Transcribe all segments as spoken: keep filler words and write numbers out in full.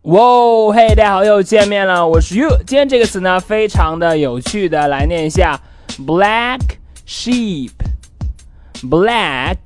哇哦，嘿，大家好，又见面了，我是 You。今天这个词呢，非常的有趣的，来念一下 black sheep。black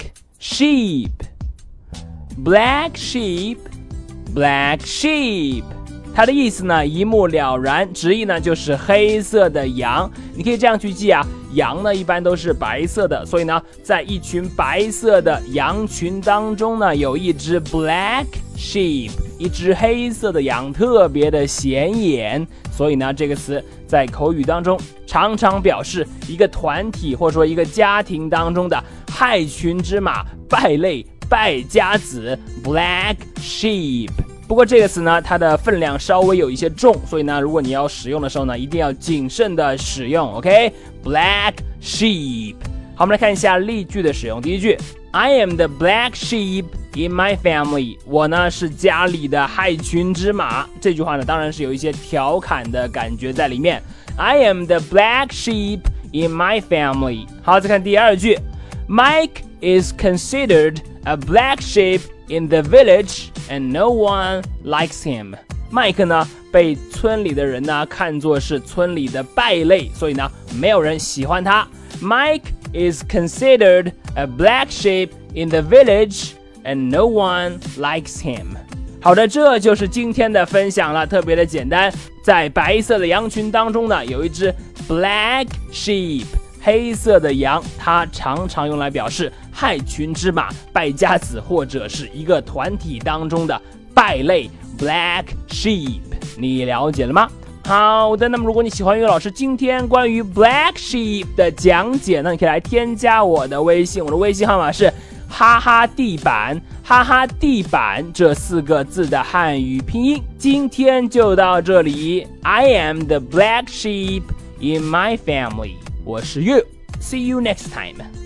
sheep，black sheep，black sheep。它的意思呢一目了然，直译呢就是黑色的羊。你可以这样去记啊，羊呢一般都是白色的，所以呢，在一群白色的羊群当中呢，有一只 black sheep， 一只黑色的羊，特别的显眼。所以呢，这个词在口语当中常常表示一个团体或者说一个家庭当中的害群之马、败类、败家子 black sheep。不过这个词呢，它的分量稍微有一些重，所以呢，如果你要使用的时候呢，一定要谨慎的使用 ，OK？Black sheep。好，我们来看一下例句的使用。第一句 ，I am the black sheep in my family。我呢是家里的害群之马。这句话呢，当然是有一些调侃的感觉在里面。I am the black sheep in my family。好，再看第二句 ，Mike is considered a black sheep。in the village and no one likes him。 麦克呢被村里的人呢看作是村里的败类，所以呢没有人喜欢他。 Mike is considered a black sheep in the village and no one likes him。 好的，这就是今天的分享了，特别的简单。在白色的羊群当中呢，有一只 black sheep，黑色的羊，它常常用来表示害群之马、败家子，或者是一个团体当中的败类 black sheep。 你了解了吗？好的，那么如果你喜欢岳老师今天关于 black sheep 的讲解呢，你可以来添加我的微信，我的微信号码是哈哈地板，哈哈地板这四个字的汉语拼音。今天就到这里。 I am the black sheep in my family。我是 You， see you next time。